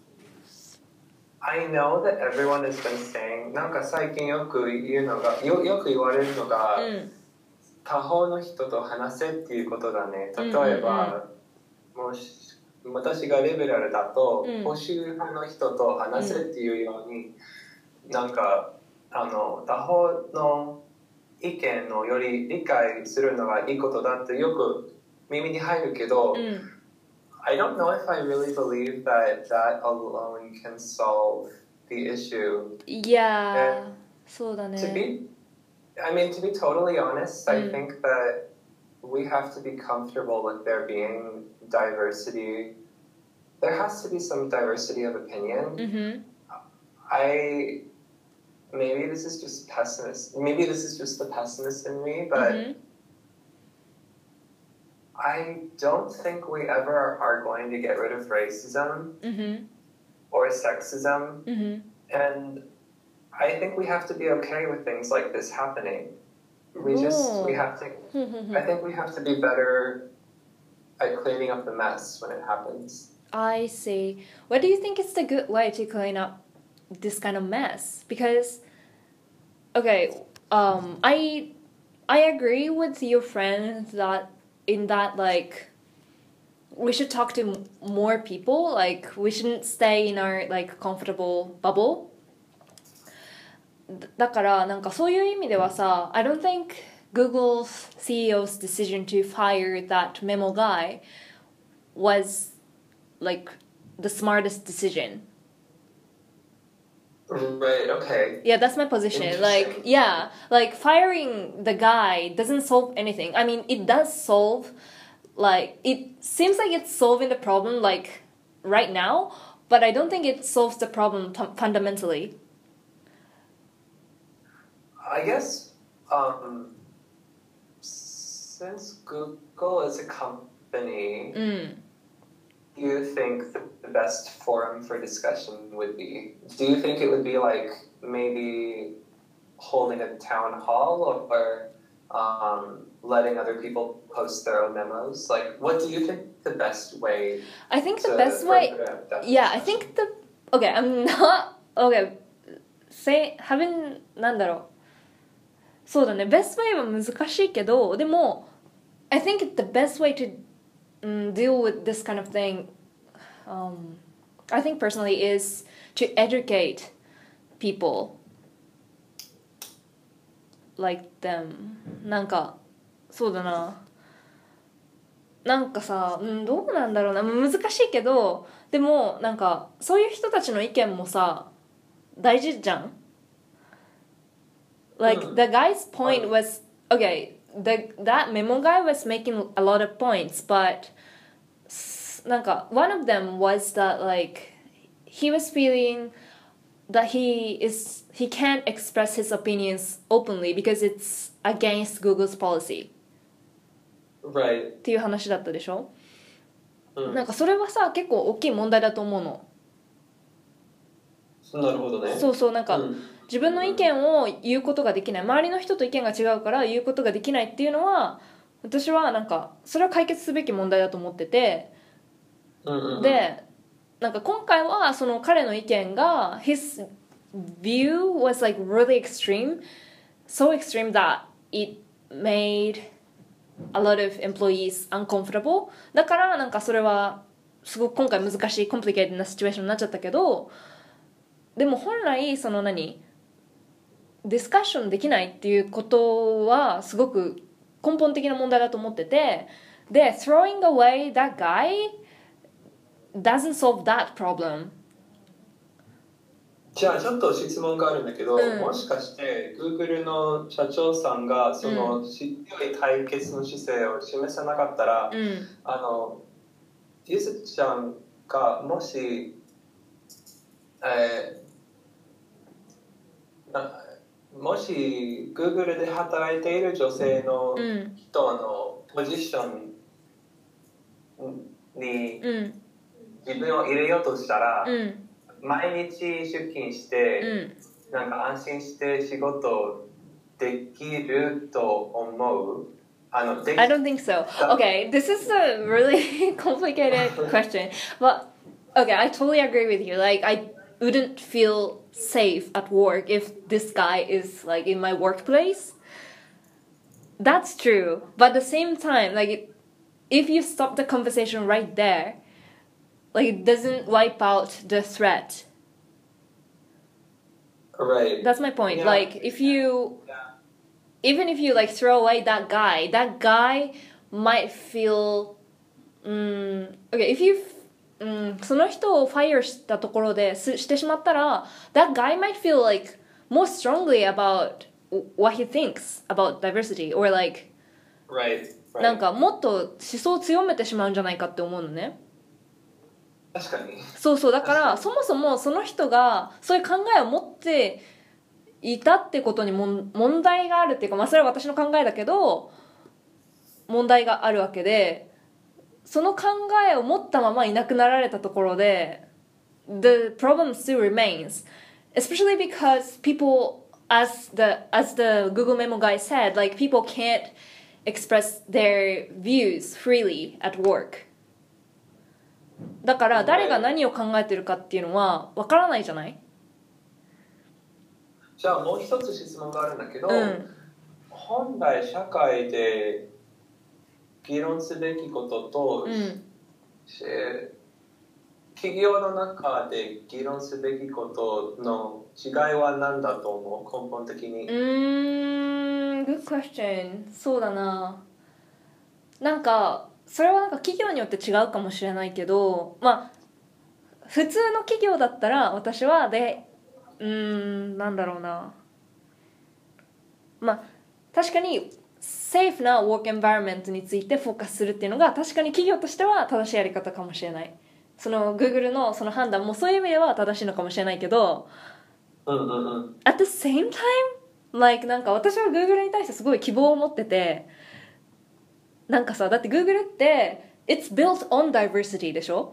[SPEAKER 3] I know that everyone has been saying なんか最近よく言うのがよよく言われるのが、
[SPEAKER 1] うん
[SPEAKER 3] 他方の人と話せっていうことだね。例えば、もし私がリベラルだと、
[SPEAKER 1] うん
[SPEAKER 3] 保守派の人と話せっていうように、なんかあの他方の意見のより理解するのがいいことだってよく耳に入るけど、
[SPEAKER 1] うん
[SPEAKER 3] I don't know if I really believe that that alone can solve the issue.
[SPEAKER 1] いやーそうだ
[SPEAKER 3] To
[SPEAKER 1] ね
[SPEAKER 3] be, I mean, to be totally honest, I
[SPEAKER 1] Mm.
[SPEAKER 3] think that we have to be comfortable with there being diversity. There has to be some diversity of opinion.
[SPEAKER 1] うんふん
[SPEAKER 3] I maybe this is just pessimist. Maybe this is just the pessimist in me, but
[SPEAKER 1] うんふん
[SPEAKER 3] I don't think we ever are going to get rid of racism
[SPEAKER 1] うんふん
[SPEAKER 3] or sexism.
[SPEAKER 1] うんふん
[SPEAKER 3] And I think we have to be okay with things like this happening. We just, we have to,
[SPEAKER 1] ふんふんふん
[SPEAKER 3] I think we have to be better at cleaning up the mess when it happens.
[SPEAKER 1] I see. What do you think is the good way to clean up this kind of mess? Because, okay, um, I I agree with your friend that in that like we should talk to m- more people. Like we shouldn't stay in our like comfortable bubble. だだからなんかそういう意味ではさ I don't think Google's C E O's decision to fire that memo guy was like the smartest decision.
[SPEAKER 3] Right, okay.
[SPEAKER 1] Yeah, that's my position.
[SPEAKER 3] Interesting.
[SPEAKER 1] Like, yeah, like firing the guy doesn't solve anything. I mean, it does solve, like, it seems like it's solving the problem, like, right now, but I don't think it solves the problem t- fundamentally.
[SPEAKER 3] I guess um, since Google is a company,
[SPEAKER 1] うん。
[SPEAKER 3] do you think the, the best forum for discussion would be? Do you think it would be like maybe holding a town hall or um, letting other people post their own memos? Like, what do you think the best way
[SPEAKER 1] I think the
[SPEAKER 3] to
[SPEAKER 1] best way,
[SPEAKER 3] further that
[SPEAKER 1] yeah, I
[SPEAKER 3] discussion?
[SPEAKER 1] think the, okay, I'm not, okay, say, having, なんだろう。そうだね、best way は難しいけど、でも、I think the best way to um, deal with this kind of thing, um, I think personally, is to educate people like them. なんか、そうだな。なんかさ、うん、どうなんだろうな。難しいけど、でも、なんか、そういう人たちの意見もさ、大事じゃんLike,
[SPEAKER 3] Mm.
[SPEAKER 1] the guy's point was, okay, the, that memo guy was making a lot of points, but s- なんか one of them was that like he was feeling that he is he can't express his opinions openly because it's against Google's policy
[SPEAKER 3] Right.
[SPEAKER 1] っていう話だったでしょ、
[SPEAKER 3] うん
[SPEAKER 1] なんかそれはさ結構大きい問題だと思うの。
[SPEAKER 3] なるほどね。
[SPEAKER 1] そうそうなんか、
[SPEAKER 3] うん
[SPEAKER 1] 自分の意見を言うことができない、周りの人と意見が違うから言うことができないっていうのは私はなんかそれは解決すべき問題だと思ってて、
[SPEAKER 3] うんうんうん、
[SPEAKER 1] でなんか今回はその彼の意見が his view was like really extreme, so extreme that it made a lot of employees uncomfortable. だからなんかそれはすごく今回難しいコンプリケートなシチュエーションになっちゃったけど、でも本来その何ディスカッションできないっていうことはすごく根本的な問題だと思ってて、で throwing away that guy doesn't solve that problem。
[SPEAKER 3] じゃあちょっと質問があるんだけど、
[SPEAKER 1] うん
[SPEAKER 3] もしかして Google の社長さんがその強い対決の姿勢を示さなかったら、
[SPEAKER 1] うん、
[SPEAKER 3] あのゆずちゃんがもし、えー、なもし Google で働いている女性の人のポジションに自分を入れようとしたら、
[SPEAKER 1] うん、
[SPEAKER 3] 毎日出勤して、
[SPEAKER 1] うん、
[SPEAKER 3] なんか安心して仕事できると思う？あの、でき
[SPEAKER 1] I don't think so. Okay, this is a really complicated question. But okay, I totally agree with you. Like, I wouldn't feel safe at work if this guy is like in my workplace. That's true. But at the same time, like, if you stop the conversation right there, like, it doesn't wipe out the threat.
[SPEAKER 3] Right.
[SPEAKER 1] That's my point.
[SPEAKER 3] Yeah.
[SPEAKER 1] Like, if you even if you like throw away that guy, that guy might feel, um, okay, if you, um, その人を fire したところでしてしまったら that guy might feel like more strongly about what he thinks about diversity or like
[SPEAKER 3] Right. Right.
[SPEAKER 1] なんかもっと思想を強めてしまうんじゃないかって思うのね。
[SPEAKER 3] 確かに。
[SPEAKER 1] そうそう、だからそもそもその人がそういう考えを持っていたってことにも問題があるっていうか、まあそれは私の考えだけど問題があるわけで、その考えを持ったままいなくなられたところで the problem still remains, especially because people, as the as the Google Memo guy said, like people can't express their views freely at work。 だから誰が何を考えてるかっていうのはわからないじゃない。
[SPEAKER 3] じゃあもう一つ質問があるんだけど、
[SPEAKER 1] うん、
[SPEAKER 3] 本来社会で議論すべきことと、
[SPEAKER 1] うん、
[SPEAKER 3] 企業の中で議論すべきことの違いは何だと思う？根本的に。
[SPEAKER 1] うーん、good question。 そうだな。なんかそれはなんか企業によって違うかもしれないけど、まあ普通の企業だったら私はでうーんなんだろうな、まあ確かにセーフなワークエンバイロメントについてフォーカスするっていうのが確かに企業としては正しいやり方かもしれない。その Google のその判断もそういう意味では正しいのかもしれないけど、
[SPEAKER 3] うんうんうん、
[SPEAKER 1] at the same time, like なんか私は Google に対してすごい希望を持ってて、なんかさ、だって Google って It's built on diversity でしょ。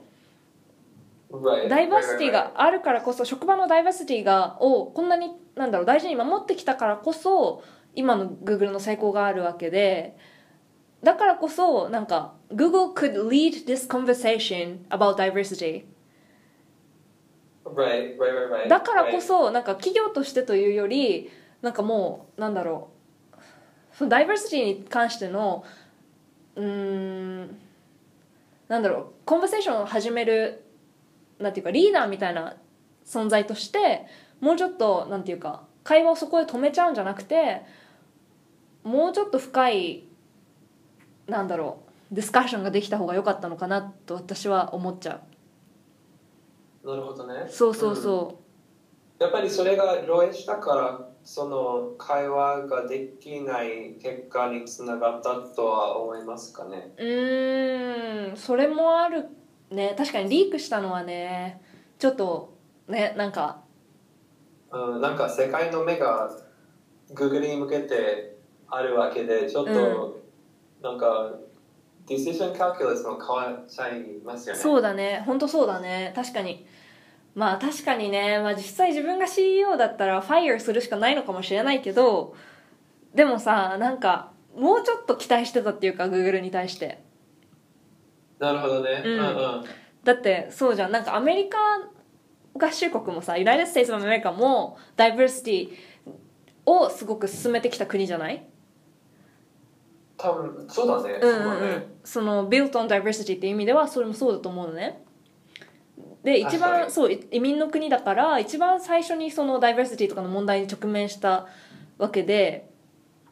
[SPEAKER 3] Right.
[SPEAKER 1] ダイバーシティがあるからこそ、職場のダイバーシティがをこんなになんだろう大事に守ってきたからこそ今の Google の成功があるわけで、だからこそなんか Google could lead this conversation about diversity。
[SPEAKER 3] Right, right, right, right.
[SPEAKER 1] だからこそなんか企業としてというよりなんかもうなんだろう、そのダイバーシティに関してのうーんなんだろうコンバセーションを始めるなんていうかリーダーみたいな存在としてもうちょっとなんていうか会話をそこで止めちゃうんじゃなくて、もうちょっと深いなんだろうディスカッションができた方が良かったのかなと私は思っちゃ
[SPEAKER 3] う。なるほどね。
[SPEAKER 1] そうそうそう、
[SPEAKER 3] うん、やっぱりそれが漏洩したからその会話ができない結果につながったとは思いますかね。
[SPEAKER 1] うーんそれもあるね。確かにリークしたのはねちょっとねなんか、
[SPEAKER 3] うん、なんか世界の目が Google に向けてあるわけでちょっと、うん、なんかディシジョンカルキュラスも変わっちゃいますよね。
[SPEAKER 1] そうだね、本当そうだね。確かにまあ確かにね、まあ、実際自分が シーイーオー だったらファイヤーするしかないのかもしれないけど、でもさなんかもうちょっと期待してたっていうか Google に対して。
[SPEAKER 3] なるほどね、
[SPEAKER 1] うん
[SPEAKER 3] うんうん、
[SPEAKER 1] だってそうじゃん、なんかアメリカ合衆国もさユナイテッド・ステイツ・オブ・アメリカもダイバーシティをすごく進めてきた国じゃない。
[SPEAKER 3] 多分そうだね、
[SPEAKER 1] うんうんうん、その built on diversity っていう意味ではそれもそうだと思うのね。で一番そう移民の国だから一番最初にそのダイバーシティとかの問題に直面したわけで、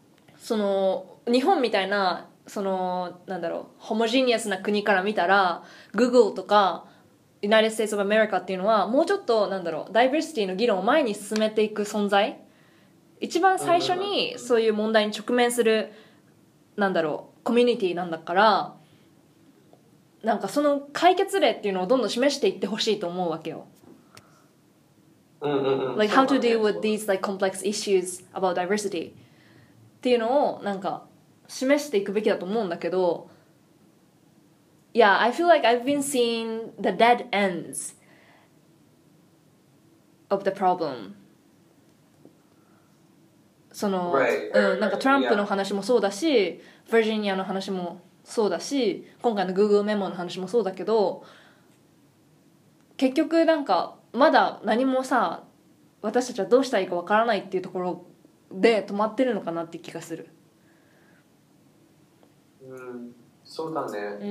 [SPEAKER 1] その日本みたいなそのなんだろうホモジニアスな国から見たら Google とか United States of America っていうのはもうちょっとなんだろうダイバーシティの議論を前に進めていく存在、一番最初にそういう問題に直面するなんだろうコミュニティなんだから、なんかその解決例っていうのをどんどん示していってほしいと思うわけよ。
[SPEAKER 3] うんうんうん。
[SPEAKER 1] Like how to deal with these like complex issues about diversity っていうのをなんか示していくべきだと思うんだけど、 Yeah, I feel like I've been seeing the dead ends of the problem. その、
[SPEAKER 3] Right.
[SPEAKER 1] うん、なんかトランプの話もそうだし、バージニアの話もそうだし、今回の Google メモの話もそうだけど、結局なんかまだ何もさ、私たちはどうしたらいいかわからないっていうところで止まってるのかなって気がする。
[SPEAKER 3] うん、そうだね。
[SPEAKER 1] うん。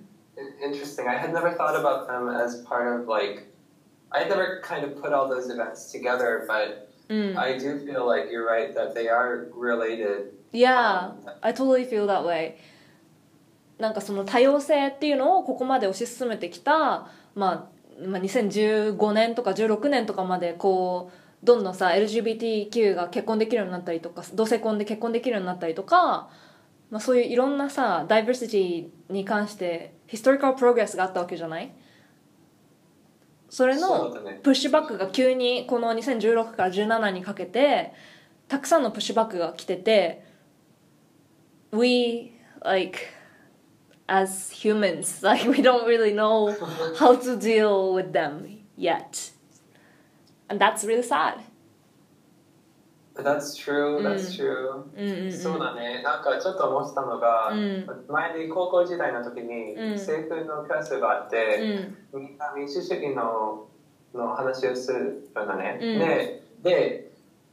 [SPEAKER 3] Interesting. I had never thought about them as part of like, I had never kind of put all those events together, but
[SPEAKER 1] Mm.
[SPEAKER 3] I do feel like you're right that they are related.
[SPEAKER 1] Yeah, I totally feel that way. なんかその多様性っていうのをここまで推し進めてきた、まあ、まあにせんじゅうごねんとかじゅうろくねんとかまでこうどんどんさ エルジービーティーキュー が結婚できるようになったりとか同性婚で結婚できるようになったりとか、まあ、そういういろんなさダイバーシティに関してヒストリカルプログレスがあったわけじゃない。それのプッシュバックが急にこのにせんじゅうろくからじゅうななにかけてたくさんのプッシュバックが来てて、 We like as humans like we don't really know how to deal with them yet, and that's really sad.
[SPEAKER 3] That's true, that's true、
[SPEAKER 1] うんうんうん、
[SPEAKER 3] そうだね。なんかちょっと思ってたのが、うん、前に高校時代の時に政府のクラスがあって、うん、みんな民主主義のの話をするんだね、うん、で, で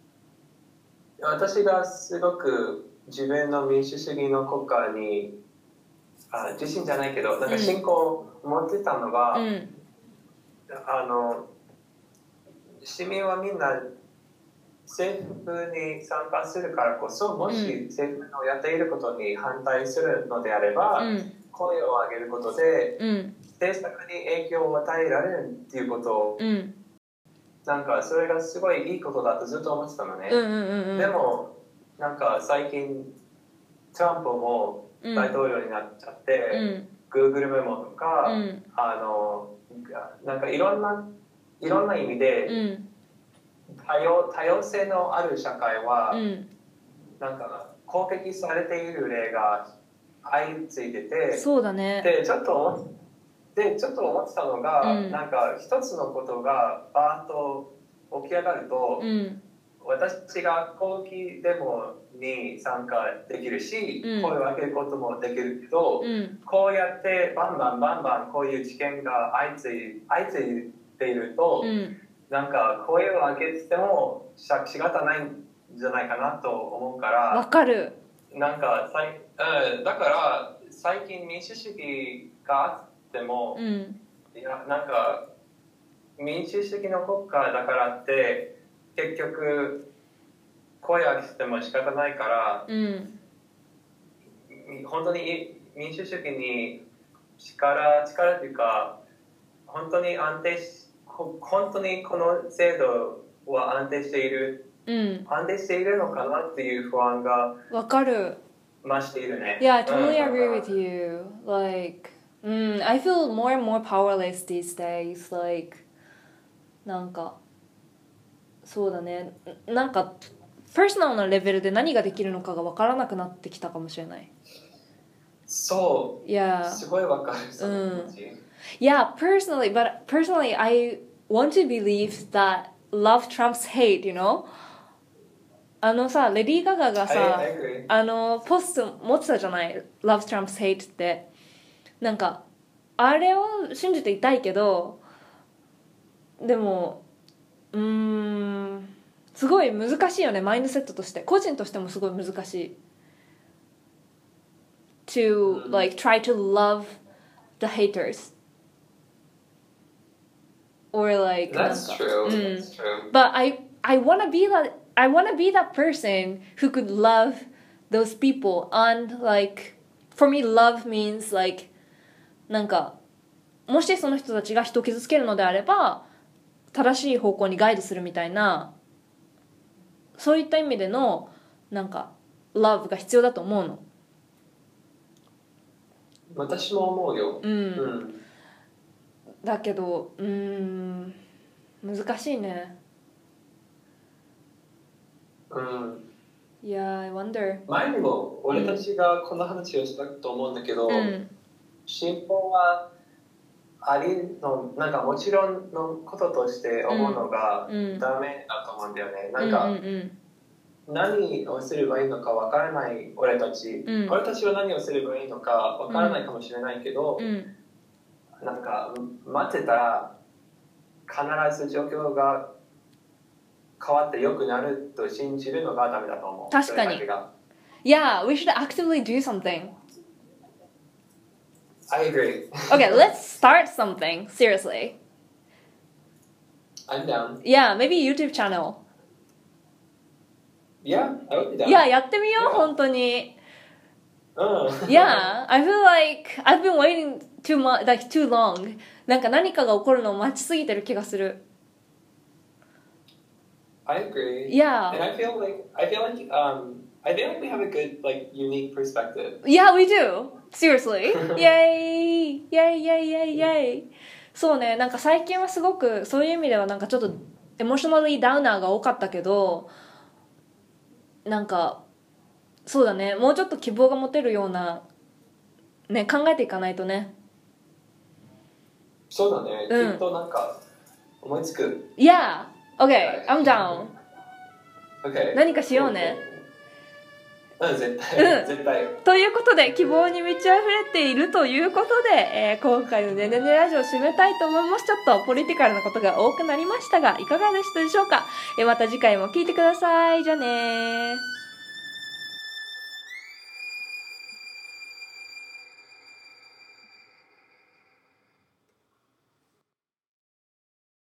[SPEAKER 3] 私がすごく自分の民主主義の国家にあ自信じゃないけどなんか信仰を持ってたのが、うん、あの市民はみんな政府に参加するからこそ、もし政府のやっていることに反対するのであれば、うん、声を上げることで、うん、政策に影響を与えられるっていうことを、うん、なんかそれがすごいいいことだとずっと思ってたのね、うんうんうんうん、でもなんか最近トランプも大統領になっちゃって、うん、Google メモとか、うん、あのなんかいろんないろんな意味で、うん多様、多様性のある社会は、うん、なんか攻撃されている例が相次いでて、
[SPEAKER 1] そうだね。
[SPEAKER 3] でちょっとでちょっと思ってたのが、うん、なんか一つのことがバーッと起き上がると、うん、私が抗議デモに参加できるし、うん、声を上げることもできるけど、うん、こうやってバンバンバンバンこういう事件が相次い、相次いでいると、うんなんか声を上げてても仕方ないんじゃないかなと思うから。
[SPEAKER 1] わかる。
[SPEAKER 3] なんかさい、うん、だから最近民主主義があっても、うん、いやなんか民主主義の国家だからって結局声を上げてても仕方ないから、うん、本当に民主主義に力力というか本当に安定し本当にこの制度は安定している、うん、安定しているのかなっていう不安が
[SPEAKER 1] わかる
[SPEAKER 3] 増しているね。
[SPEAKER 1] Yeah, I totally agree with you. Like, mm, I feel more and more powerless these days. Like, なんかそうだね。なんかパーソナルなレベルで何ができるのかがわからなくなってきたかもしれない。
[SPEAKER 3] そう。
[SPEAKER 1] Yeah.
[SPEAKER 3] すごいわかる。
[SPEAKER 1] うん。Yeah, personally, but personally, I want to believe that love trumps hate, you know? あのさ、レディー・ガガがさ、
[SPEAKER 3] I, I
[SPEAKER 1] あのポスト持ってたじゃない Love trumps hate ってなんかあれを信じていたいけどでもうーんすごい難しいよねマインドセットとして個人としてもすごい難しい to like try to love the haters or like
[SPEAKER 3] That's
[SPEAKER 1] なんか
[SPEAKER 3] true.
[SPEAKER 1] うん
[SPEAKER 3] That's true.
[SPEAKER 1] But I I wanna be that I wanna be that person who could love those people and like for me love means like なんかもしその人たちが人を傷つけるのであれば正しい方向にガイドするみたいなそういった意味でのなんか love が必要だと思うの。
[SPEAKER 3] 私も思うよ。
[SPEAKER 1] うん、
[SPEAKER 3] うん、
[SPEAKER 1] だけどうーん難しいね。
[SPEAKER 3] うん、
[SPEAKER 1] いや I wonder
[SPEAKER 3] 前にも俺たちがこの話をしたと思うんだけど、
[SPEAKER 1] うん、
[SPEAKER 3] 信仰はありのなんかもちろんのこととして思うのがダメだと思うんだよね、うん、なんか、うんうんうん何をすればいいのかわからない俺たち、うん、俺たちは何をすればいいのかわからないかもしれないけど、うん、なんか待ってたら必ず状況が変わって良くなると信じるのがダメだと思う。
[SPEAKER 1] 確かに。Yeah, we should actively do something.
[SPEAKER 3] I agree.
[SPEAKER 1] Okay, let's start something. Seriously.
[SPEAKER 3] I'm down.
[SPEAKER 1] Yeah, maybe YouTube channel.Yeah,
[SPEAKER 3] I would be down.
[SPEAKER 1] Yeah, やってみよう、yeah. 本当に。
[SPEAKER 3] うん。
[SPEAKER 1] Yeah, I feel like I've been waiting too much, like too long. なんか何かが起こるのを待ちすぎてる気がする。
[SPEAKER 3] I agree.
[SPEAKER 1] Yeah.
[SPEAKER 3] And I feel like I feel like um I feel like we have a good like unique perspective.
[SPEAKER 1] Yeah, we do. Seriously. Yay! Yay! Yay! Yay! Yay! そうね、なんか最近はすごくそういう意味ではなんかちょっとエモーショナリーダウナーが多かったけど。なんかそうだね、もうちょっと希望が持てるようなね考えていかないとね。
[SPEAKER 3] そうだね、うん、きっとなんか思いつく。
[SPEAKER 1] Yeah, okay, I'm down.
[SPEAKER 3] Okay.
[SPEAKER 1] 何かしようね。
[SPEAKER 3] うん、絶対、うん、絶対。
[SPEAKER 1] ということで希望に満ち溢れているということで、えー、今回のねねねラジオを締めたいと思います。ちょっとポリティカルなことが多くなりましたがいかがでしたでしょうか。えー、また次回も聞いてください。じゃあねー。